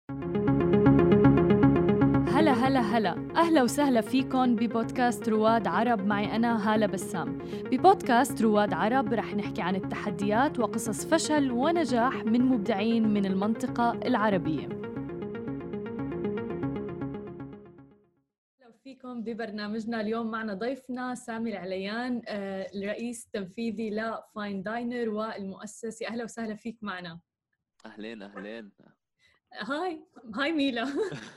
هلا هلا هلا، أهلا وسهلا فيكن ببودكاست رواد عرب. معي أنا هالة بسام. ببودكاست رواد عرب رح نحكي عن التحديات وقصص فشل ونجاح من مبدعين من المنطقة العربية. أهلا فيكم ببرنامجنا. اليوم معنا ضيفنا سامي العليان، الرئيس التنفيذي لفاين داينر والمؤسسي. أهلا وسهلا فيك معنا. أهلين هاي ميلا.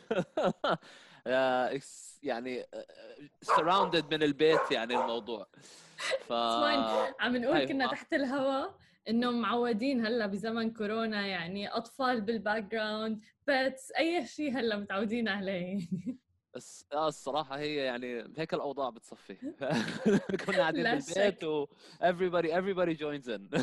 يعني surrounded من البيت يعني الموضوع. فاين. عم نقول كنا أيوة. تحت الهواء انه معودين هلا بزمن كورونا، يعني اطفال بالباك جراوند، بيتس، اي شيء هلا متعودين عليه. بس الصراحة هي يعني هيك الأوضاع بتصفي. كنا قاعدين لا بالبيت شك. و everybody joins in.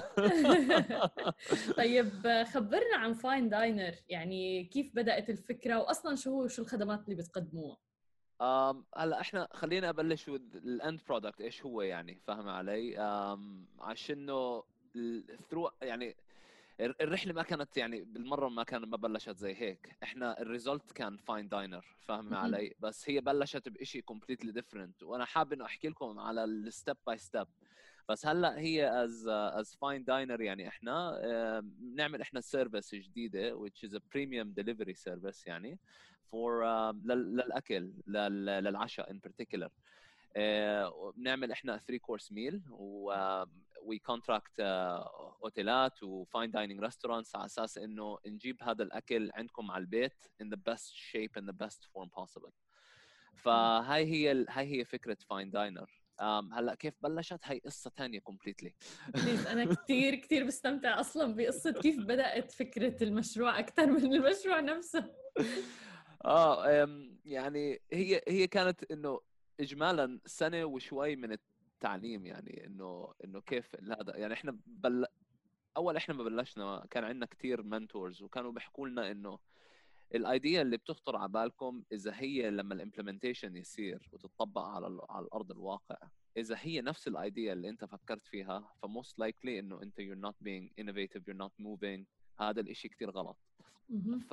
طيب خبرنا عن فاين داينر، يعني كيف بدأت الفكرة، واصلا شو الخدمات اللي بتقدموها؟ هلا احنا خلينا ابلش الاند برودكت ايش هو، يعني فاهم علي؟ عشانه الثرو يعني الرحله ما كانت يعني بالمره ما بلشت زي هيك. احنا الريزلت كان فاين داينر، فاهم علي؟ بس هي بلشت بشيء كومبليتلي ديفرنت، وانا حابب انه احكي لكم على الستيب باي ستيب. بس هلا هي از فاين داينر يعني احنا بنعمل احنا سيرفيس جديده which is a premium delivery service يعني for للاكل للعشاء in particular. بنعمل احنا 3 كورس ميل وي كونتراكت اوتيلات وفاين دايننج ريستورانتس على اساس انه نجيب هذا الاكل عندكم على البيت in the best shape and the best form possible. هاي هي فكره فاين داينر. هلا كيف بلشت؟ هاي قصه ثانيه كومبليتلي. بليز، انا كثير بستمتع اصلا بقصة كيف بدأت فكرة المشروع اكثر من المشروع نفسه. يعني هي كانت انه اجمالا سنه وشوي من التعليم، يعني انه كيف هذا يعني اول احنا ما بلشنا كان عندنا كثير منتورز وكانوا بيحكوا لنا انه الايديا اللي بتخطر على بالكم اذا هي لما الامبلمنتيشن يصير وتطبق على الارض الواقع، اذا هي نفس الايديا اللي انت فكرت فيها فموست لايكلي انه انت you're not being innovative, you're not moving. هذا الاشي كثير غلط. ف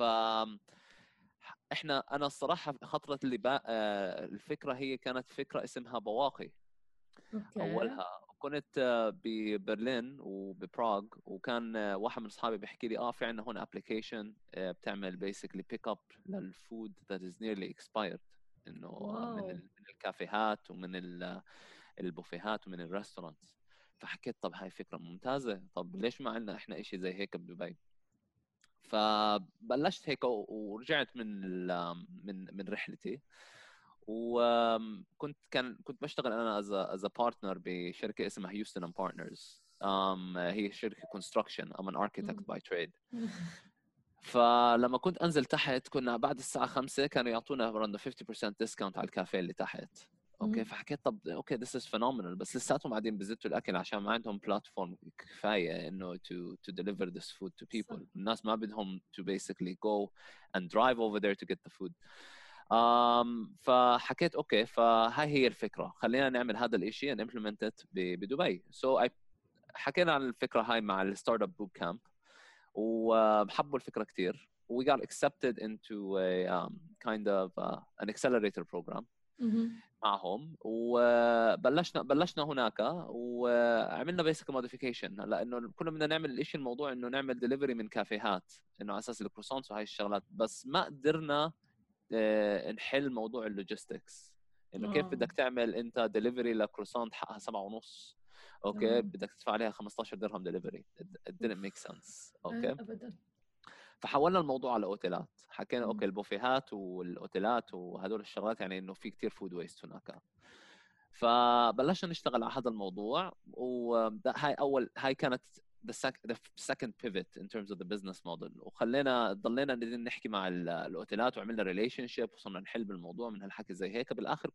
انا الصراحه خطرت اللي الفكره هي كانت فكره اسمها بواقي. اوكي. اولها كنت ببرلين وببراغ، وكان واحد من اصحابي بيحكي لي في عندنا هون ابلكيشن بتعمل بيسكلي بيك اب للفود ذات از نيرلي اكسبايرد، انه واو. من الكافيهات ومن البوفيهات ومن الريستورانتس. فحكيت طب هاي فكره ممتازه، طب ليش ما عندنا احنا شيء زي هيك بدبي؟ فبلشت هيك ورجعت من رحلتي، وكنت كنت بشتغل انا از بارتنر بشركه اسمها هيوستن اند بارتنرز. هي شركه كونستراكشن. ام ان اركيتكت باي تريد. فلما كنت انزل تحت كنا بعد الساعه 5 كانوا يعطونا around 50% ديسكاونت على الكافيه اللي تحت. اوكي فحكيت طب اوكي this is phenomenal، بس لساتهم قاعدين بزتوا الاكل عشان ما عندهم بلاتفورم كفايه انه to deliver this food to صح. people. الناس ما بدهم to basically go and drive over there to get the food. فحكيت اوكي فهاي هي الفكره، خلينا نعمل هذا الاشي and implement it بدبي. so I حكينا عن الفكره هاي مع الستارت اب بوت كامب، وحبوا الفكره كثير. we got accepted into a kind of an accelerator program معهم، وبلشنا هناك وعملنا بيسك موديفيكيشن. هلا انه كنا بدنا نعمل الشيء الموضوع انه نعمل ديليفري من كافيهات انه على اساس الكروسونس وهي الشغلات، بس ما قدرنا نحل موضوع اللوجيستكس. انه كيف بدك تعمل انت ديليفري لكروسانت حقها 7.5، اوكي بدك تدفع عليها 15 درهم ديليفري. it didn't make sense. اوكي ابدا. فحولنا الموضوع على اوتيلات. حكينا اوكي البوفيهات والاوتيلات وهدول الشغلات يعني انه في كتير فود ويست هناك. فبلشنا نشتغل على هذا الموضوع، هاي كانت the second pivot in terms of the business model. وخلينا ضلينا نحكي مع الاوتيلات وعملنا ريليشن شيب وصرنا نحل بالموضوع من هالحكي زي هيك. بالاخر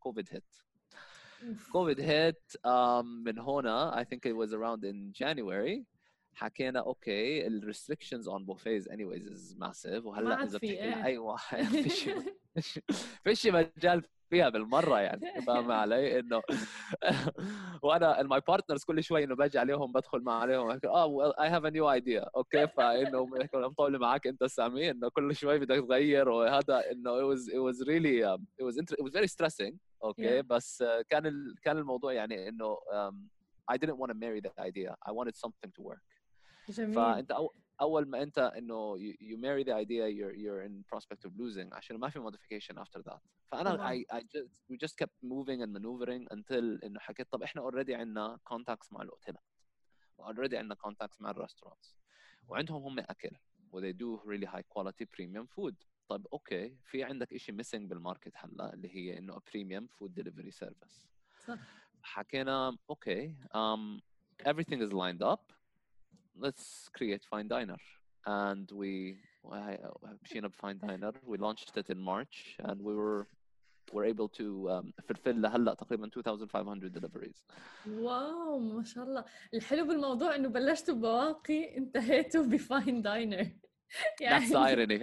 كوفيد هيت من هنا I think it was around in January. حكينا اوكي الريستريكشنز اون بوفيز anyways is massive، ما وهلا عاد اذا في بتحكي ايه. لاي واحد فيش مجال فيها بالمره يعني، فاهم علي؟ انه وانا ماي بارتنرز كل شوي انه باجي عليهم بدخل مع عليهم اي هاف ا نيو ايديا اوكي، فانه مطول معك انت سامي انه كل شوي بدك تغير، وهذا انه it was really it was very stressing اوكي. yeah. بس كان الموضوع يعني انه I didn't want to marry that idea. I wanted something to work. جميل. فانت اول ما انت انه you marry the idea you're in prospect of losing عشان ما في modification after that. فانا طبعا. we just kept moving and maneuvering until انه حكيت طب احنا already عندنا contacts مع الاوتيلات، already عندنا contacts مع الرestaurants، وعندهم هم اكل و they do really high quality premium food. طب اوكي، في عندك شيء missing بالماركت هلا اللي هي انه a premium food delivery service. صح. حكينا اوكي everything is lined up, let's create Fine Diner. And we مشينا بFine Diner. We launched it in March and we're able to fulfill لهلا تقريبا 2500 deliveries. واو ما شاء الله. الحلو بالموضوع انه بلشتوا بواقي انتهيتوا بفاين داينر. That's the يعني irony.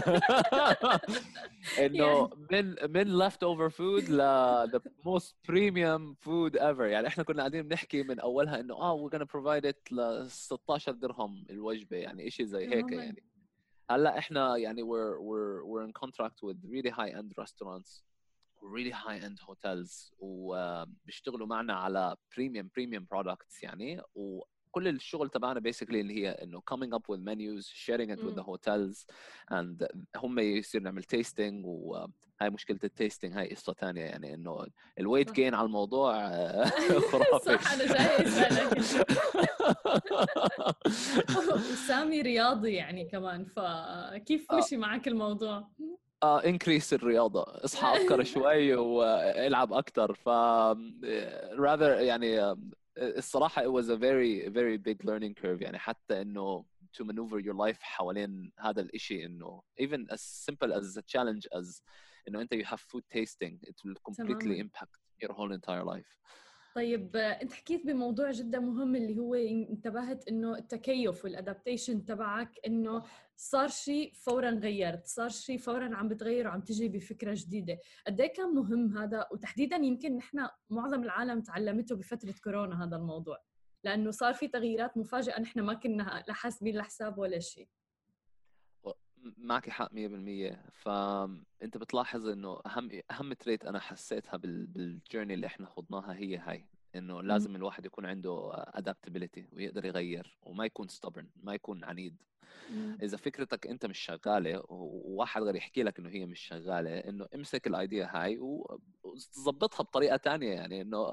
انه من leftover food ل the most premium food ever. يعني احنا كنا قاعدين بنحكي من اولها انه we're gonna provide it ل 16 درهم الوجبه، يعني شيء زي هيك تماما. يعني. هلا احنا يعني we're in contract with really high end restaurants, really high end hotels, وبيشتغلوا معنا على premium products يعني. وكل الشغل تبعنا basically اللي هي انه coming up with menus, sharing it with the hotels, and هم يصير نعمل tasting. وهاي مشكلة التيستينج، هاي قصة ثانية يعني، انه الويت جين على الموضوع خرافي. صح انا جاي اسالك. وسامي رياضي يعني كمان، فكيف مشي معك الموضوع؟ انكريس الرياضة، اصحى ابكر شوي والعب اكثر. ف rather يعني الصراحة it was a very big learning curve يعني. حتى انه to maneuver your life حوالين هذا الاشي، انه even as simple as a challenge as انه انت you have food tasting, it will completely تماما. impact your whole entire life. طيب انت حكيت بموضوع جدا مهم اللي هو انتبهت انه التكيف والادابتيشن تبعك، انه صار شيء فورا غيرت، صار شيء فورا عم بتغير وعم تجي بفكره جديده. قد ايه كان مهم هذا؟ وتحديدا يمكن نحن معظم العالم تعلمته بفتره كورونا هذا الموضوع، لانه صار في تغييرات مفاجئه نحن ما كنا لا حاسبين لحساب ولا شيء. معك حق 100%. فانت بتلاحظ انه اهم تريت انا حسيتها بالجيرني اللي احنا خضناها هي هاي، انه لازم الواحد يكون عنده adaptability ويقدر يغير وما يكون stubborn، ما يكون عنيد. اذا فكرتك انت مش شغاله وواحد غير يحكي لك انه هي مش شغاله، انه امسك الايديا هاي وظبطها بطريقه تانية يعني. انه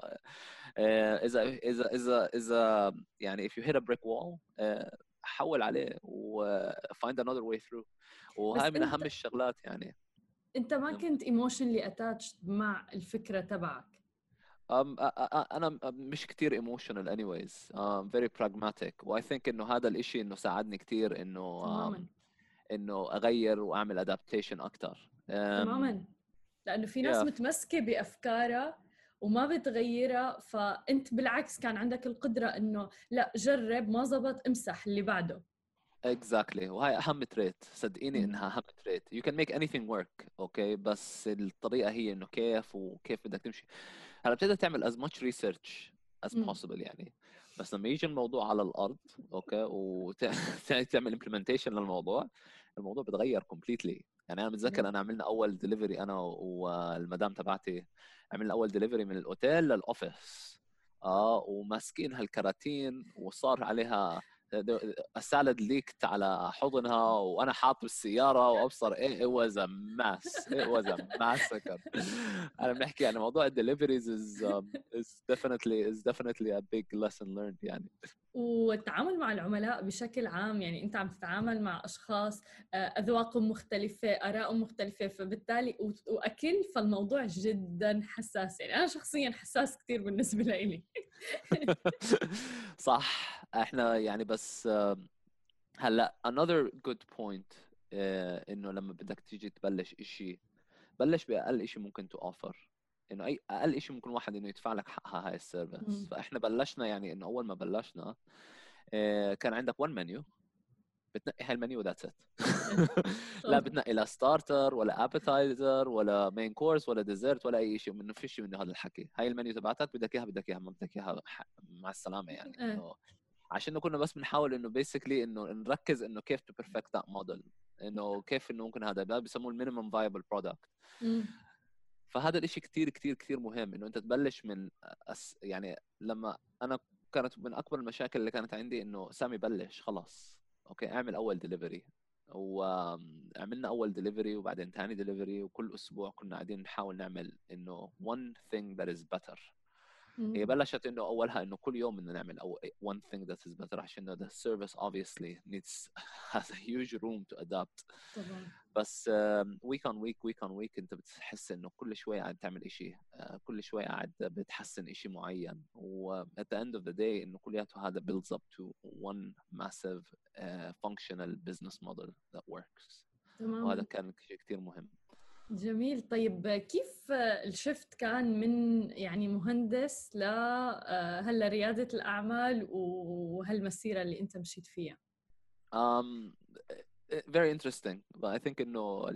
اذا يعني if you hit a brick wall حول عليه و find another way through. بس وهاي من اهم الشغلات يعني. انت ما كنت emotionally attached مع الفكره تبعك؟ انا مش كتير emotional anyways. very pragmatic. و I think انه هذا الاشي انه ساعدني كتير انه تماما. انه اغير واعمل adaptation اكتر. تماما. لأنه في ناس yeah متمسكة بأفكارها وما بتغيرها، فأنت بالعكس كان عندك القدرة إنه لا جرب، ما زبط امسح اللي بعده. exactly. وهاي اهم تريت، صدقيني انها اهم تريت. you can make anything work اوكي، بس الطريقه هي انه كيف وكيف بدك تمشي. هلا بتقدر تعمل as much research as possible يعني، بس لما يجي الموضوع على الارض اوكي وتعمل implementation للموضوع، الموضوع بتغير completely يعني. انا متذكر انا عملنا اول دليفري انا والمدام تبعتي، عملنا اول دليفري من الاوتيل للاوفيس وماسكين هالكراتين وصار عليها السالد ليكت على حضنها وانا حاط بالسياره وابصر it was a mess, it was a massacre. انا بنحكي عن موضوع الدليفريز is definitely a big lesson learned يعني. والتعامل مع العملاء بشكل عام، يعني أنت عم تتعامل مع أشخاص أذواقهم مختلفة، آرائهم مختلفة، فبالتالي وأكل، فالموضوع جدا حساس. يعني أنا شخصيا حساس كتير بالنسبة لي. صح. احنا يعني بس هلا another good point انه لما بدك تيجي تبلش اشي، بلش باقل اشي ممكن تو اوفر. انه اي اقل اشي ممكن واحد انه يدفع لك حقها هاي السيرفيس. فاحنا بلشنا يعني انه اول ما بلشنا كان عندك one menu بتنقي هاي المنيو ذاتس ات. لا بتنقي لا ستارتر ولا ابيتايزر ولا مين كورس ولا ديزرت ولا اي شيء، منه فيش منه هذا الحكي. هاي المنيو تبعتك، بدك اياها بدك اياها، ما بدك اياها مع السلامه يعني. انه عشان كنا بس بنحاول انه بيسكلي انه نركز انه كيف تو بيرفكت ذات موديل، انه كيف انه ممكن هذا بيسموه المينيمم فايبل برودكت. فهذا الاشي كتير كتير كتير مهم، انه انت تبلش من يعني لما انا كانت من اكبر المشاكل اللي كانت عندي انه سامي بلش خلاص اوكي اعمل اول ديليفري، وعملنا اول ديليفري وبعدين ثاني ديليفري، وكل اسبوع كنا قاعدين نحاول نعمل انه one thing that is better. هي بلشت انه اولها انه كل يوم بدنا نعمل one thing that is better، عشان the service obviously needs has a huge room to adapt طبعا. بس week on week انت بتحس انه كل شوي قاعد تعمل اشي، كل شوي قاعد بتحسن اشي معين، و at the end of the day انه كلياته هذا builds up to one massive functional business model that works. تمام. وهذا كان شيء كتير مهم. جميل. طيب كيف الشفت كان من يعني مهندس ل هلا ريادة الأعمال وهالمسيرة اللي أنت مشيت فيها؟ Very interesting, but I think إنه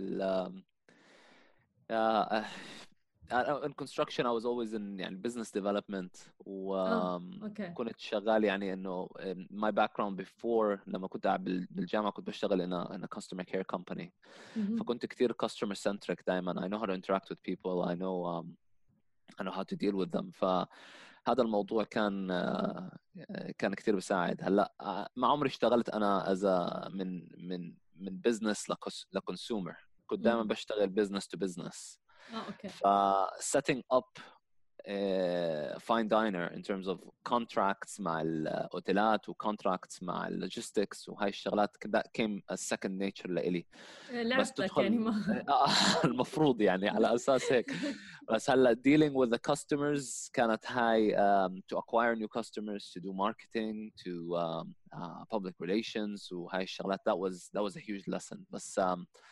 in construction I was always in يعني business development، وكنت شغال يعني إنه my background before لما كنت قاعد بالجامعة كنت بشتغل in a customer care company. فكنت كتير customer centric دائما. I know how to interact with people. I know how to deal with them. فهذا الموضوع كان كتير بيساعد. هلا ما عمري اشتغلت انا من business لكونسيومر. كنت دائما بشتغل business to business. اوكي. ف setting up fine diner in terms of contracts مع الاوتيلات و contracts مع اللوجيستكس وهاي الشغلات that came as second nature لإلي. بس تدخل يعني ما المفروض يعني على اساس هيك. بس هلا dealing with the customers كانت هاي to acquire new customers, to do marketing, to public relations وهاي الشغلات. that was a huge lesson. بس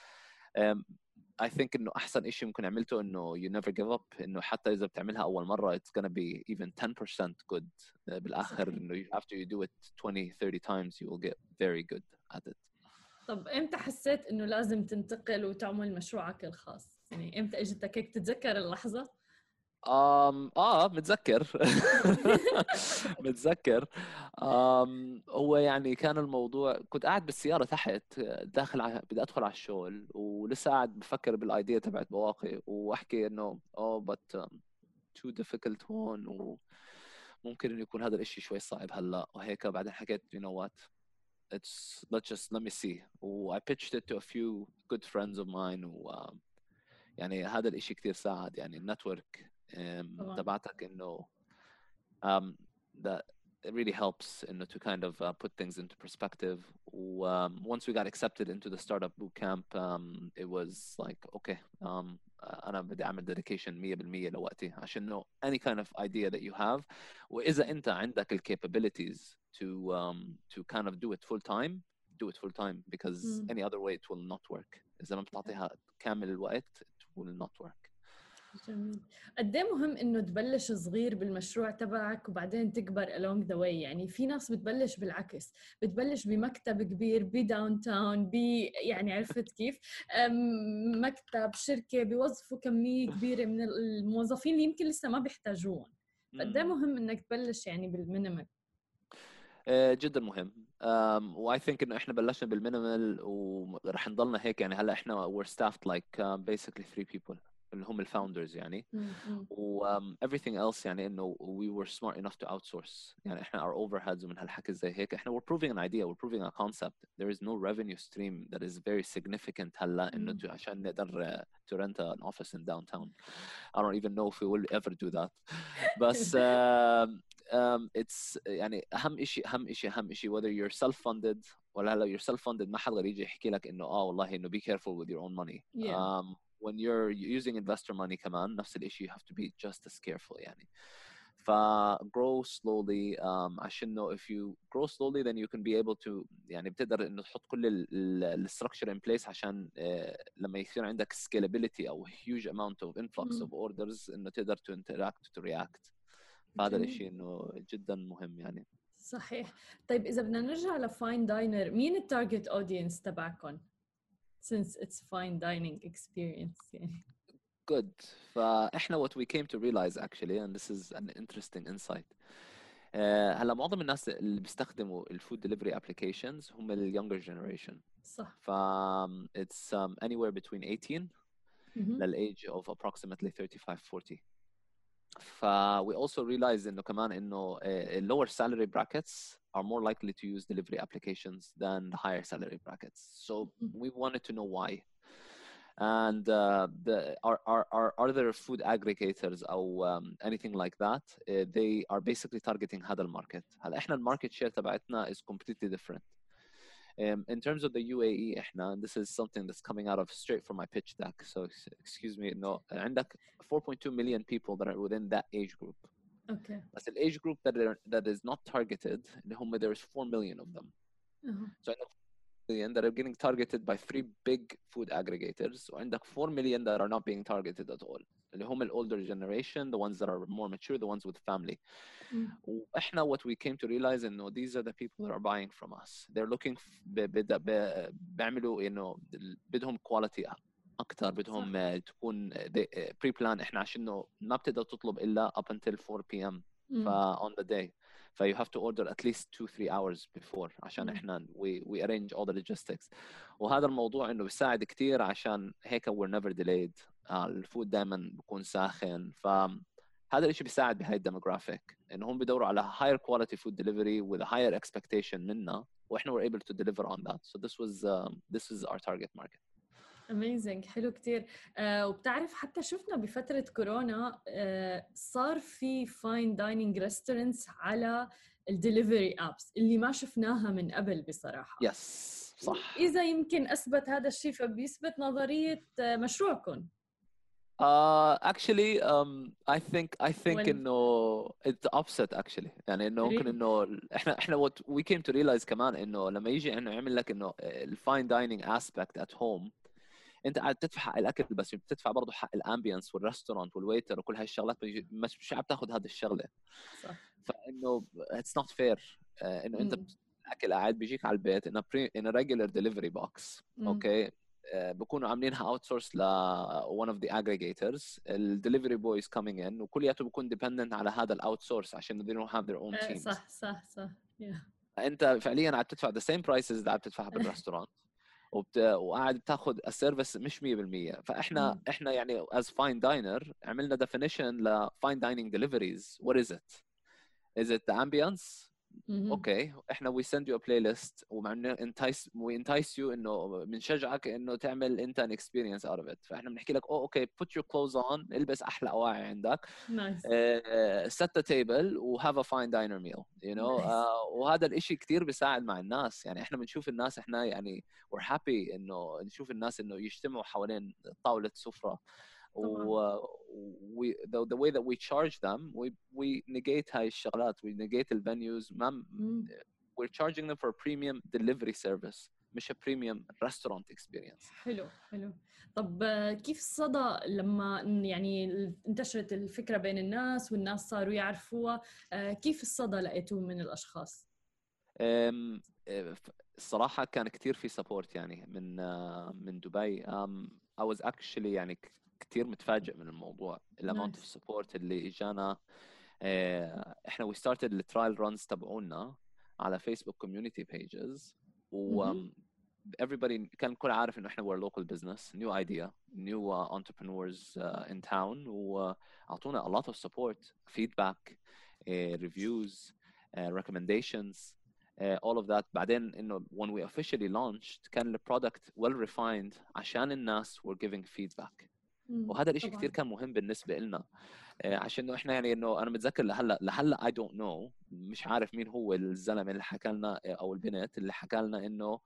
I think إنه أحسن إشي ممكن عملته إنه you never give up. إنه حتى إذا بتعملها أول مرة it's gonna be even 10% good. بالآخر إنه after you do it 20-30 times you will get very good at it. طب إمتى حسيت إنه لازم تنتقل وتعمل مشروعك الخاص؟ يعني إمتى إجتك هيك تتذكر اللحظة؟ متذكر. متذكر. هو يعني كان الموضوع كنت قاعد بالسيارة تحت داخل بدي أدخل على الشغل ولسه قاعد بفكر بالآيديا تبعت بواقي وأحكي إنه but too difficult هون وممكن إنه يكون هذا الإشي شوي صعب هلا وهيك. بعدين حكيت you know what let me see. I pitched it to a few good friends of mine يعني هذا الإشي كتير ساعد يعني النتورك تبعتك إنه that it really helps إنه to kind of put things into perspective. Once we got accepted into the startup boot camp it was like okay أنا بدي أعمل dedication 100% لوقتي عشان إنه any kind of idea that you have وإذا أنت عندك ال capabilities to kind of do it full time because any other way it will not work. إذا ما بتعطيها كامل الوقت it will not work. جميل. قد ايه مهم انه تبلش صغير بالمشروع تبعك وبعدين تكبر along the way. يعني في ناس بتبلش بالعكس، بتبلش بمكتب كبير بداون تاون يعني عرفت كيف مكتب شركة بيوظفوا كمية كبيرة من الموظفين اللي يمكن لسه ما بيحتاجوهم. قد ايه مهم انك تبلش يعني بالمينيمال. جدا مهم. و I think إنه إحنا بلشنا بالمينيمال ورح نضلنا هيك يعني. هلا إحنا we're staffed like basically 3 people اللي هم الفاوندرز يعني. و everything else يعني إنه we were smart enough to outsource. يعني إحنا our overheads ومن هالحكي زي هيك إحنا we're proving an idea, we're proving a concept. There is no revenue stream that is very significant هلا إنه عشان نقدر to rent an office in downtown. I don't even know if we will ever do that. بس it's يعني أهم إشي whether you're self-funded ولا هلا you're self-funded ما حد غير يجي يحكي لك إنه والله إنه be careful with your own money. When you're using investor money كمان نفس الإشي you have to be just as careful يعني. grow slowly عشان إنه if you grow slowly then you can be able to يعني بتقدر إنه تحط كل structure in place عشان لما يصير عندك scalability أو huge amount of influx of orders إنه تقدر to interact to react. فهذا الشيء إنه جدا مهم يعني. صحيح. طيب إذا بدنا نرجع لفاين داينر، مين التارجت أودينس تبعكم؟ Since it's fine dining experience يعني. Good. فإحنا what we came to realize actually, and this is an interesting insight. هلا معظم الناس اللي بيستخدموا الفود ديليفري applications هم ال younger generation. صح. ف it's anywhere between 18 لل age of approximately 35-40. ف we also realized إنه كمان إنه lower salary brackets are more likely to use delivery applications than the higher salary brackets. So we wanted to know why. And are there food aggregators or anything like that? They are basically targeting هذا الماركت. هلا احنا الماركت شير تبعتنا is completely different. In terms of the UAE احنا, this is something that's coming out of straight from my pitch deck. So excuse me, no, عندك 4.2 million people that are within that age group. Okay. But the age group that is not targeted, there's 4 million of them. So million that are getting targeted by 3 big food aggregators, and the 4 million that are not being targeted at all. اللي هم the older generation, the ones that are more mature, the ones with family. وإحنا what we came to realize إنه these are the people that are buying from us. They're looking بيعملوا بدهم quality أكتر, بدهم تكون pre-plan. إحنا عشان ما بتقدر تطلب إلا up until 4 p.m. on the day. So you have to order at least 2-3 hours before عشان احنا we arrange all the logistics. وهذا الموضوع انه بيساعد كتير عشان هيك we're never delayed. الفود دائما بيكون ساخن. فهذا الشيء بيساعد بهاي الديموغرافيك انهم بيدوروا على higher quality food delivery with a higher expectation منا, واحنا were able to deliver on that. So this is our target market. Amazing. حلو كتير. وبتعرف حتى شفنا بفترة كورونا صار في فاين دايننج ريستورانتس على الدليفري ابس اللي ما شفناها من قبل بصراحة. Yes, صح. إذا يمكن أثبت هذا الشيء فبيثبت نظرية مشروعكم. Actually, I think إنه it's opposite actually. يعني إنه ممكن إنه إحنا what we came to realize كمان إنه لما يجي إنه يعمل لك إنه الفاين دايننج aspect at home, انت قاعد تدفع حق الاكل بس بتدفع برضه حق الامبيانس والريستورانت والويتر وكل هاي الشغلات, مش عم تاخذ هذه الشغله. صح. فانه اتس نوت فير انه انت الاكل قاعد بيجيك على البيت ان ريجولر ديليفري بوكس. اوكي, بكونوا عاملينها اوت سورس ل one of the aggregators. الدليفري بويز coming in وكلياته بيكون dependent على هذا الاوت سورس عشان they don't have their own teams. صح. انت فعليا عم تدفع the same prices اللي عم تدفعها بالريستورانت وقاعد بتاخذ السيرفيس مش 100%. فاحنا يعني as fine diner عملنا definition ل fine dining deliveries. What is it? Is it the ambience? اوكي, احنا we send you a playlist ومعنا we entice you انه بنشجعك انه تعمل انت an experience out of it. فاحنا بنحكي لك اوكي put your clothes on, البس احلى اواعي عندك, set the table و have a fine diner meal, you know. وهذا الاشي كتير بيساعد مع الناس. يعني احنا بنشوف الناس, احنا يعني we're happy انه نشوف الناس انه يجتمعوا حوالين طاولة سفرة. the way that we charge them, we negate هاي الشغلات, we negate the venues. We're charging them for a premium delivery service, مش a premium restaurant experience. حلو. طب كيف الصدى لما يعني انتشرت الفكرة بين الناس والناس صاروا يعرفوها؟ كيف الصدى لقيتوه من الأشخاص؟ الصراحة كان كتير في support يعني من دبي. I was actually يعني كتير متفاجئ من الموضوع, الامount of support اللي اجانا. احنا we started the trial runs تبعونا على Facebook community pages, و everybody كان كل عارف انه احنا we're local business, new idea, new entrepreneurs in town, واعطونا a lot of support, feedback, reviews, recommendations, all of that. بعدين انه when we officially launched كان the product well refined عشان الناس were giving feedback. وهذا الاشي كتير كان مهم بالنسبة لنا, عشان انه احنا يعني انه انا متذكر لهلا I don't know, مش عارف مين هو الزلمة اللي حكى لنا او البنت اللي حكى لنا انه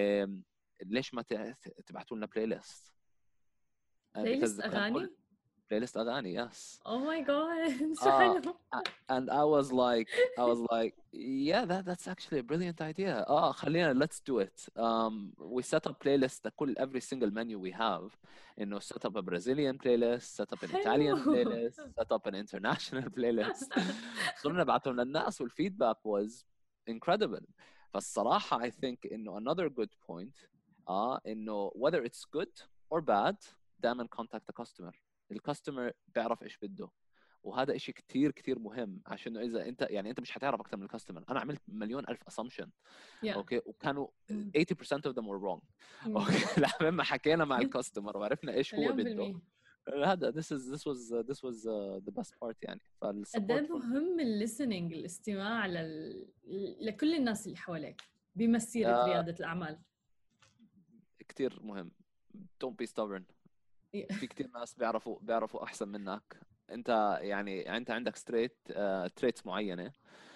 ليش ما تبعتوا لنا بلاي ليست اغاني. بلاي ليست اغاني yes. Oh my god. شو uh, حلو. and I was like yeah that's actually a brilliant idea. خلينا let's do it. We set up playlist لكل every single menu we have, انه set up a Brazilian playlist, set up an Italian حلو. playlist, set up an international playlist. صرنا نبعتهم للناس والفيدباك was incredible. فالصراحة I think انه another good point انه whether it's good or bad دائما contact the customer. الكاستمر بيعرف ايش بده، وهذا إشي كتير كتير مهم، عشان إذا أنت يعني أنت مش هتعرف أكتر من الكاستمر. أنا عملت مليون ألف assumption أوكي، وكانوا 80% of them were wrong أوكي. لما حكينا مع الكاستمر وعرفنا إيش هو بده، هذا this was the best part يعني. قد ايه مهم الليسننج، الاستماع لكل الناس اللي حواليك بمسيرة ريادة الأعمال. كتير مهم. don't be stubborn. في كتير ناس بيعرفوا أحسن منك. انت يعني انت عندك تريتس معينه،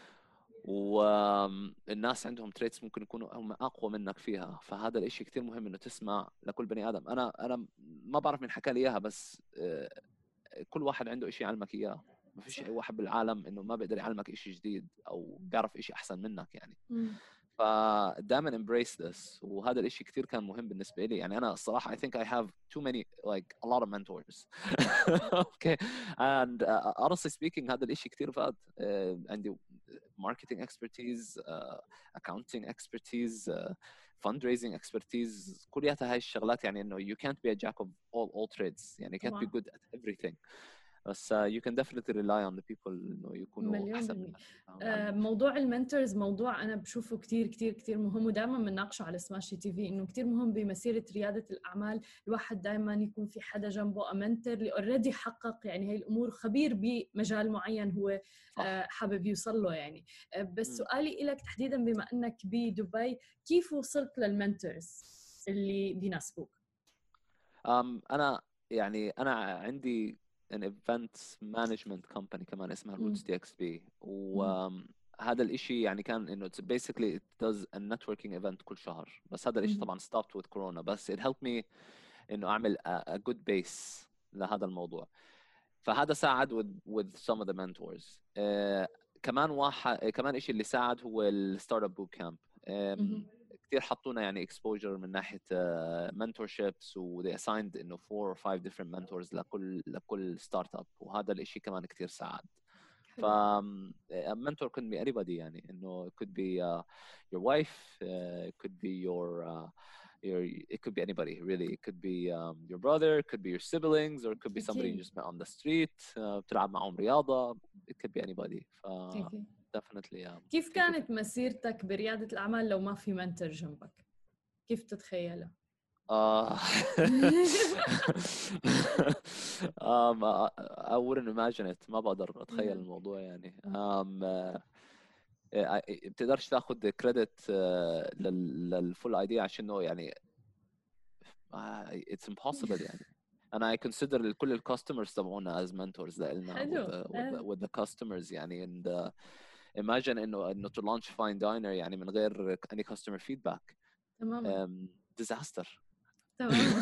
والناس عندهم تريتس ممكن يكونوا هم اقوى منك فيها. فهذا الاشي كتير مهم انه تسمع لكل بني ادم. انا ما بعرف مين حكى لي اياها، بس كل واحد عنده اشي يعلمك اياه. ما فيش اي واحد بالعالم انه ما بيقدر يعلمك اشي جديد او بيعرف اشي احسن منك يعني. فدائما embrace this، وهذا الاشي كتير كان مهم بالنسبه لي يعني. انا الصراحه I think I have too many like a lot of mentors okay and honestly speaking هذا الاشي كتير فاد. عندي marketing expertise, accounting expertise, fundraising expertise، كلياتها هاي الشغلات يعني. انه you can't be a jack of all trades يعني. you can't be good at everything، بس you can definitely rely on the people انه يكونوا احسن منك. موضوع المنتورز موضوع انا بشوفه كتير كتير كتير مهم، ودائما بنناقشه على سماشي تي في، انه كتير مهم بمسيره رياده الاعمال الواحد دائما يكون في حدا جنبه امنتر اللي اوريدي حقق يعني هي الامور، خبير بمجال معين هو حابب يوصل له يعني. بس سؤالي لك تحديدا بما انك بدبي، كيف وصلت للمنتورز اللي بيناسبوك؟ انا عندي an event management company كمان اسمها Roots DXB، وهذا الاشي يعني كان انه basically it does a networking event كل شهر. بس هذا الاشي طبعا stopped with corona، بس it helped me انه اعمل a good base لهذا الموضوع. فهذا ساعد with some of the mentors. كمان اشي اللي ساعد هو الستارت اب بوت كامب. كثير حطونا يعني exposure من ناحية mentorships، و they assigned إنه 4 or 5 different mentors لكل ستارت اب، وهذا الإشي كمان كثير ساعد. ف mentor could be anybody يعني. إنه it could be your wife, it could be it could be anybody really. It could be your brother, it could be your siblings, or it could be somebody you just met on the street بتلعب معهم رياضة. It could be anybody. definitely كيف كانت مسيرتك بريادة الأعمال لو ما في منتور جنبك؟ كيف تتخيلها؟ I wouldn't imagine it. ما بقدر أتخيل الموضوع يعني. بتقدرش تاخد كريدت للفول ايديا عشانه يعني it's impossible يعني. أنا I consider كل الكاستمرز تبعونا as mentors لنا with the customers يعني. and imagine انه to launch fine diner يعني من غير any customer feedback. تماما. disaster. تمام.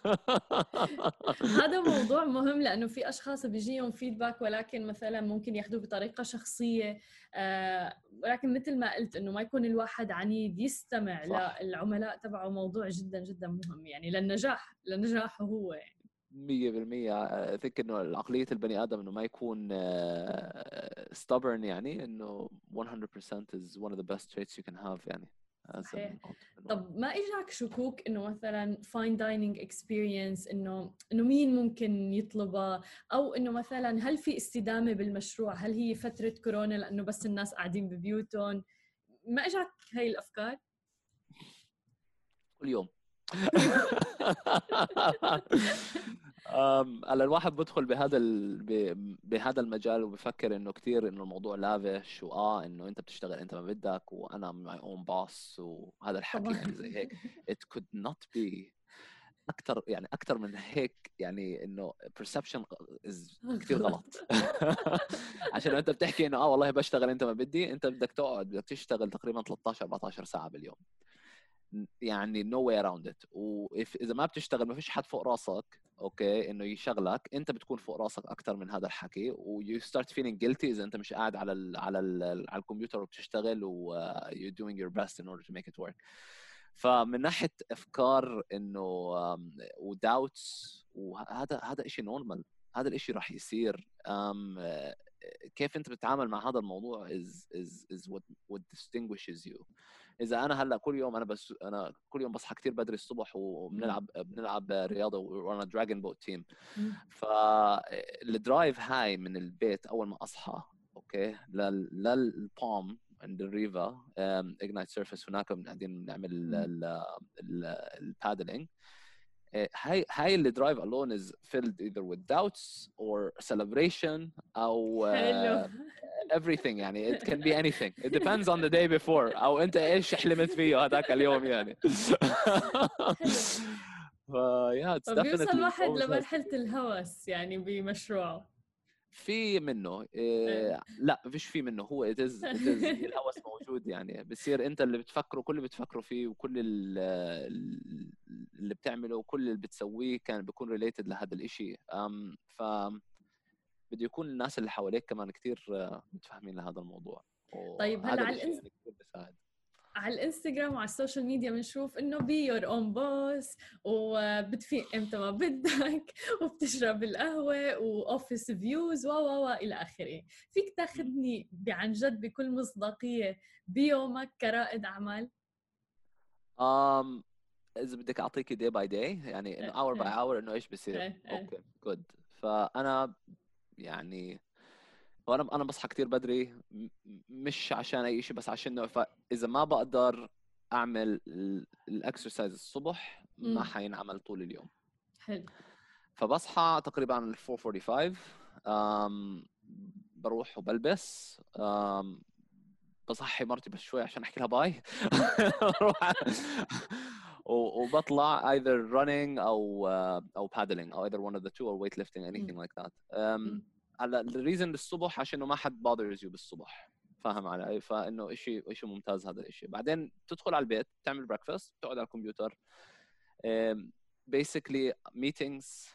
هذا موضوع مهم، لأنه في أشخاص بيجيهم فيدباك ولكن مثلا ممكن ياخذوه بطريقة شخصية، ولكن مثل ما قلت إنه ما يكون الواحد عنيد، يستمع صح. للعملاء تبعه. موضوع جدا جدا مهم يعني لنجاحه هو يعني. 100% think إنه العقلية البني آدم إنه ما يكون stubborn يعني. إنه 100% is one of the best traits you can have يعني. صحيح. طب ما إجاك شكوك إنه مثلا fine dining experience إنه مين ممكن يطلبها، أو إنه مثلا هل في استدامة بالمشروع؟ هل هي فترة كورونا لأنه بس الناس قاعدين ببيوتهم؟ ما إجاك هاي الأفكار؟ كل يوم. على الواحد بدخل بهذا المجال وبفكر انه كثير انه الموضوع لافش، انه انت بتشتغل انت ما بدك، وانا my own boss، وهذا الحكي يعني زي هيك. it could not be اكثر من هيك يعني. انه perception كثير غلط. عشان انت بتحكي انه والله بشتغل انت ما بدي، انت بدك تقعد بدك تشتغل تقريبا 13-14 ساعة باليوم. يعني no way around it. إذا ما بتشتغل ما فيش حد فوق راسك اوكي انه يشغلك، انت بتكون فوق راسك اكثر من هذا الحكي، و you start feeling guilty اذا انت مش قاعد على الكمبيوتر وبتشتغل و you're doing your best in order to make it work. فمن ناحيه افكار انه وداوتس، وهذا شيء نورمال، هذا الاشي راح يصير. كيف انت بتتعامل مع هذا الموضوع is what distinguishes you. اذا انا هلا كل يوم انا كل يوم بصحى كثير بدري الصبح وبنلعب رياضه وانا دراجون بوت تيم، فالدرايف هاي من البيت اول ما اصحى اوكي للبالم عند الريفا اجنايت سيرفيس، هناك قاعدين نعمل البادلينج. هاي اللي درايف alone is filled either with doubts or celebration أو everything. يعني it can be anything, it depends on the day before أو أنت إيش حلمت فيه هذاك اليوم يعني. it's فبيوصل واحد definitely لمرحلة الهوس يعني بمشروعه. في منه لا فيش في منه، هو it is الهوس موجود يعني. بصير انت اللي بتفكره كل اللي بتفكره فيه وكل اللي بتعمله وكل اللي بتسويه كان بيكون ريليتد لهذا الاشي. ف بده يكون الناس اللي حواليك كمان كتير متفاهمين لهذا الموضوع. طيب هلا على يعني كتير بيساعد. على الانستغرام وعلى السوشيال ميديا بنشوف انه بي يور اون بوس، وبتفيق امتى ما بدك، وبتشرب القهوه، واوفيس فيوز و الى اخره. فيك تاخذني عن جد بكل مصداقيه بيومك كرائد اعمال؟ اذا بدك اعطيكي day by day يعني انه hour by hour انه ايش بصير. اوكي جود. فانا يعني وانا بصحى كتير بدري مش عشان اي شيء، بس عشان اذا ما بقدر اعمل الاكسرسايز الصبح ما حينعمل طول اليوم. حلو. فبصحى تقريبا 4:45 بروح وبلبس بصحي مرتي بس شوي عشان احكي لها باي وبطلع either running او paddling او either one of the two or weightlifting anything like that. على الريزن للصبح عشان ما حد bothers you بالصبح، فاهم علي؟ فانه شيء ممتاز هذا الشيء. بعدين تدخل على البيت تعمل breakfast، تقعد على الكمبيوتر basically meetings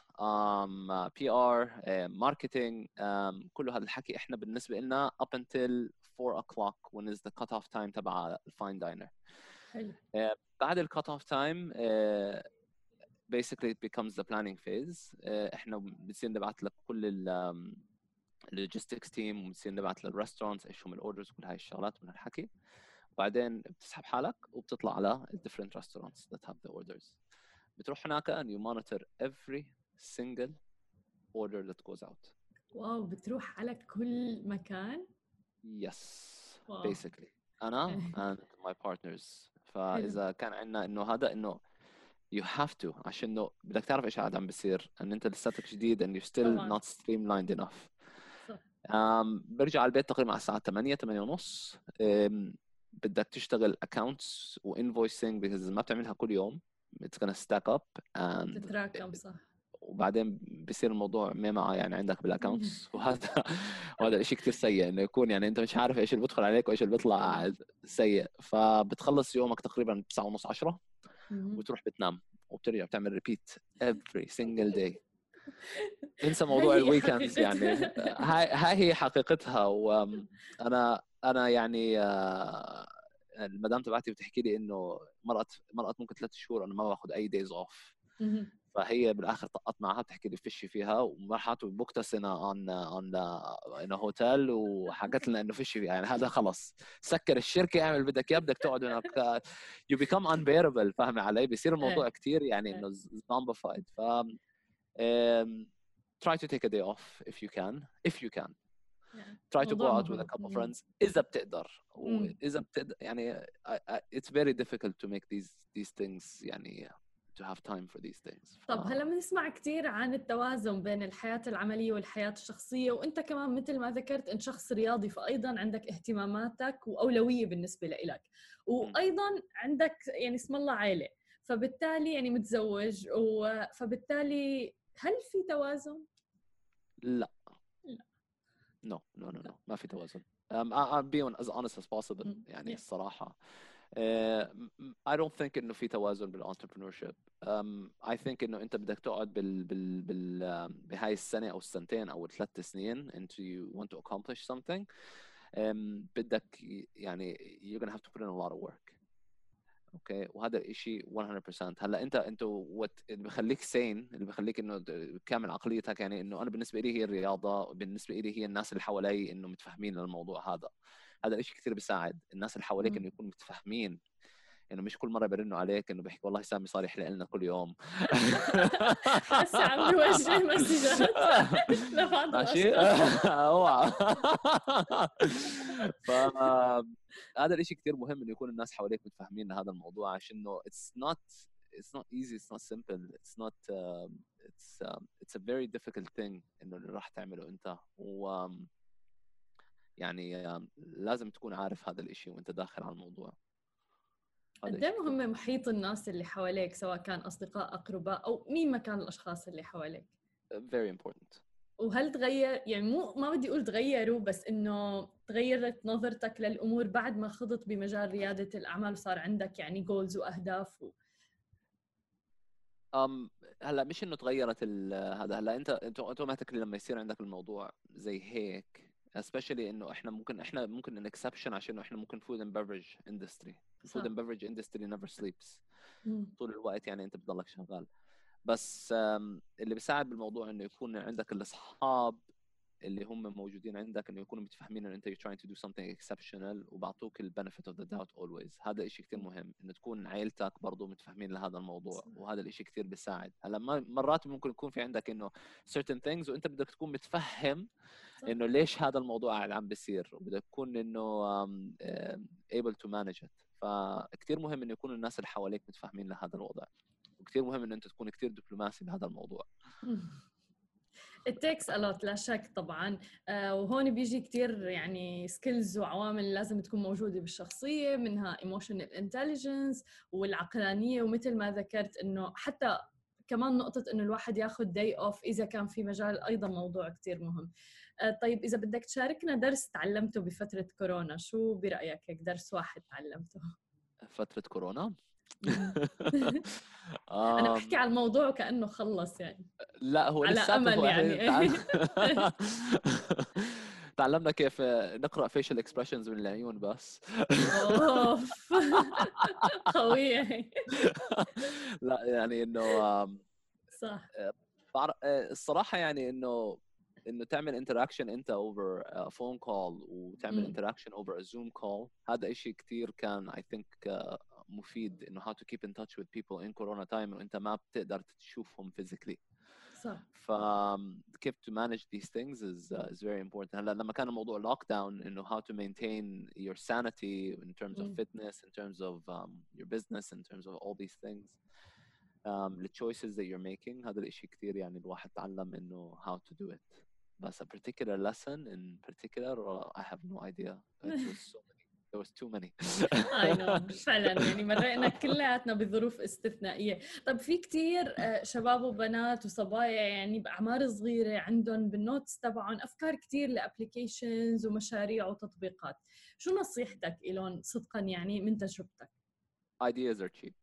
PR marketing كل هذا الحكي احنا بالنسبه لنا up until 4 o'clock when is the cut off time تبع الفاين داينر. حلو. بعد ال cut off time basically it becomes the planning phase. احنا بنصير نبعث لك كل اللوجيستكس تيم، وبنصير نبعث للريستورانتس ايش هم الاوردرز وكل هاي الشغلات من الحكي. وبعدين بتسحب حالك وبتطلع على different restaurants that have the orders. بتروح هناك and you monitor every single order that goes out. واو، بتروح على كل مكان؟ Yes. Wow. Basically أنا and my partners. فإذا كان عندنا إنه هذا إنه you have to عشان إنه بدك تعرف إيش عم بيصير إن أنت لساتك جديد and you're still not streamlined enough. برجع على البيت تقريبا على الساعة 8:30. بدك تشتغل accounts و invoicing because ما بتعملها كل يوم it's gonna stack up and تتراكم. صح. وبعدين بيصير الموضوع ميمعة يعني عندك بالاكونتس وهذا الشيء كتير سيء انه يكون يعني انت مش عارف ايش اللي بدخل عليك وايش اللي بيطلع سيء. فبتخلص يومك تقريبا 9:30 10 وتروح بتنام وبترجع بتعمل ريبيت every single day. انسى موضوع الويكندز يعني. هاي هي حقيقتها. وانا يعني المدام تبعتي بتحكي لي انه مرقت ممكن 3 شهور انا ما باخذ اي دايز اوف. فهي بالاخر طقت معها بتحكي لي فيشي فيها ومرحت وبوكت لنا ان هوتيل وحكت لنا انه فيشي يعني هذا خلص سكر الشركه اعمل بدك بدك تقعد هناك you become unbearable. فاهم علي؟ بيصير الموضوع كتير يعني انه zombified. ف try to take a day off if you can try to go out with a couple of friends إذا بتقدر. وإذا بتقدر يعني it's very difficult to make these things يعني to have time for these things. طب هلا بنسمع كتير عن التوازن بين الحياة العملية والحياة الشخصية، وانت كمان مثل ما ذكرت انت شخص رياضي، فايضا عندك اهتماماتك واولوية بالنسبة لإلك، وايضا عندك يعني اسم الله عائلة، فبالتالي يعني متزوج فبالتالي هل في توازن؟ لا. No. ما في توازن. I'm being as honest as possible يعني الصراحة. I don't think إنه في توازن بالentrepreneurship. I think إنه أنت بدك تقعد بهاي السنة أو السنتين أو ال3 سنين until you want to accomplish something. بدك يعني you're gonna have to put in a lot of work. اوكي وهذا الشيء 100%. هلا انت اللي بخليك سين، اللي بخليك انه كامل عقليتك، يعني انه انا بالنسبه لي هي الرياضه، بالنسبه لي هي الناس اللي حوالي انه متفاهمين للموضوع هذا الشيء كثير بيساعد الناس اللي حواليك انه يكونوا متفاهمين، انه مش كل مره بيرنوا عليك انه بيحكي والله سامي صار يحلق لنا كل يوم. هسه عم بوجه مسجات لبعض ماشي. الاشخاص. اوعى. فهذا الاشي كتير مهم انه يكون الناس حواليك متفاهمين لهذا الموضوع، عشان انه it's not easy, it's not simple, it's a very difficult thing انه اللي راح تعمله انت. و يعني لازم تكون عارف هذا الاشي وانت داخل على الموضوع. قد ايه مهم محيط الناس اللي حواليك، سواء كان اصدقاء، اقرباء، او مين ما كان الاشخاص اللي حواليك. very important. وهل تغير، يعني ما بدي اقول تغيروا، بس انه تغيرت نظرتك للامور بعد ما خضت بمجال ريادة الاعمال وصار عندك يعني جولز واهداف هلا مش انه تغيرت هذا. هلا انت اوتوماتيكلي لما يصير عندك الموضوع زي هيك، especially انه احنا ممكن ان exception عشان احنا ممكن food and beverage industry. food and beverage industry never sleeps. طول الوقت يعني انت بتضلك شغال. بس اللي بيساعد بالموضوع انه يكون عندك الاصحاب اللي هم موجودين عندك، انه يكونوا متفاهمين ان انت you're trying to do something exceptional وبعطوك ال benefit of the doubt always. هذا إشي كتير مهم، انه تكون عائلتك برضو متفاهمين لهذا الموضوع، وهذا الإشي كتير بيساعد. هلا مرات ممكن يكون في عندك انه certain things وانت بدك تكون متفهم انه ليش هذا الموضوع عم بيصير، وبدك تكون انه able to manage it. فكتير مهم انه يكون الناس اللي حواليك متفاهمين لهذا الوضع، وكتير مهم ان انت تكون كتير دبلوماسي بهذا الموضوع. It takes a lot لا شك طبعا. وهون بيجي كتير يعني سكيلز وعوامل لازم تكون موجودة بالشخصية، منها emotional intelligence والعقلانية، ومثل ما ذكرت انه حتى كمان نقطة انه الواحد ياخد day off اذا كان في مجال، ايضا موضوع كتير مهم. طيب اذا بدك تشاركنا درس تعلمته بفترة كورونا، شو برأيك هيك درس واحد تعلمته؟ فترة كورونا؟ أنا بحكي على الموضوع كأنه خلص يعني. لا هو على لساته أمل يعني. تعلمنا كيف نقرأ facial expressions من العيون بس. أوف. قوية. لا يعني إنه صح. الصراحة يعني إنه تعمل interaction أنت over a phone call وتعمل interaction over a Zoom call، هذا إشي كتير كان I think مفيد، إنه how to keep in touch with people in corona time وأنت ما بتقدر تشوفهم physically. صح. كيف to manage these things is very important. هلا لما كان الموضوع lock down إنه how to maintain your sanity in terms of fitness, in terms of your business, in terms of all these things, the choices that you're making، هذا الإشي كتير يعني الواحد تعلم إنه how to do it. بس a particular lesson in particular I have no idea. It was so many. There was too many. I know. فعلا يعني مرينا كلياتنا بظروف استثنائية. طب في كتير شباب وبنات وصبايا يعني بأعمار صغيرة عندهم بالنوتس تبعهم أفكار كتير لأبليكيشنز ومشاريع وتطبيقات، شو نصيحتك إلهم صدقا يعني من تجربتك؟ Ideas are cheap.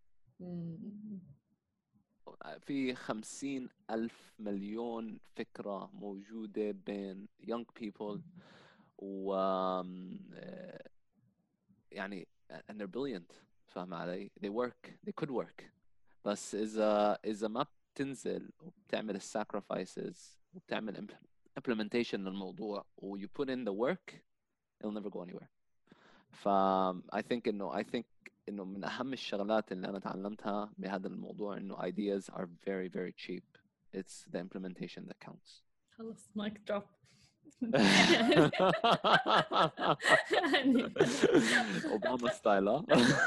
في 50,000 مليون فكرة موجودة بين young people و يعني and they're brilliant، فاهم علي؟ they could work، بس إذا ما بتنزل وبتعمل sacrifices وبتعمل implementation للموضوع و you put in the work it'll never go anywhere. I think إنه من أهم الشغلات اللي أنا تعلمتها بهذا الموضوع إنه ideas are very very cheap. It's the implementation that counts. خلص mic drop. يعني أوباما ستايل.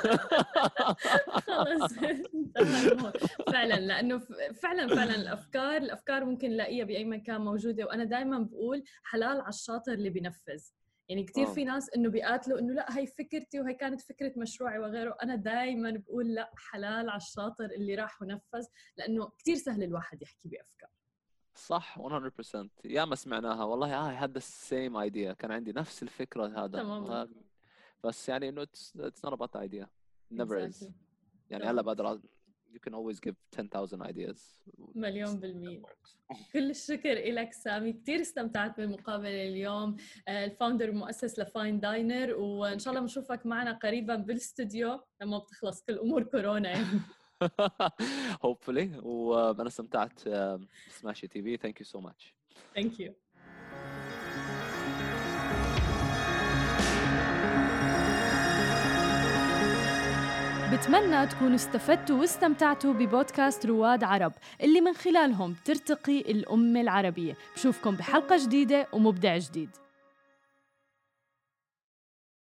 خلص فعلا، لأنه فعلا الأفكار ممكن نلاقيها بأي مكان موجودة. وأنا دائما بقول حلال على الشاطر اللي بينفذ. يعني كتير في ناس إنه بيقاتلوا إنه لا هي فكرتي وهي كانت فكرة مشروعي وغيره. أنا دائما بقول لا، حلال على الشاطر اللي راح ونفذ، لأنه كتير سهل الواحد يحكي بأفكار. صح 100%. يا ما سمعناها والله I had the same idea، كان عندي نفس الفكرة هذا. بس يعني انه it's not about the idea, never is. يعني هلا بقدر you can always give 10,000 ideas. 1,000,000%. كل الشكر لك سامي، كتير استمتعت بالمقابلة اليوم. الفاوندر المؤسس لفاين داينر، وإن شاء الله بنشوفك معنا قريبا بالاستوديو لما بتخلص كل أمور كورونا يعني. hopefully. وأنا استمتعت بسماشي تي في. thank you so much. Thank you. بتمنى تكونوا استفدتوا واستمتعتوا ببودكاست رواد عرب اللي من خلالهم ترتقي الأمة العربية. بشوفكم بحلقة جديدة ومبدع جديد.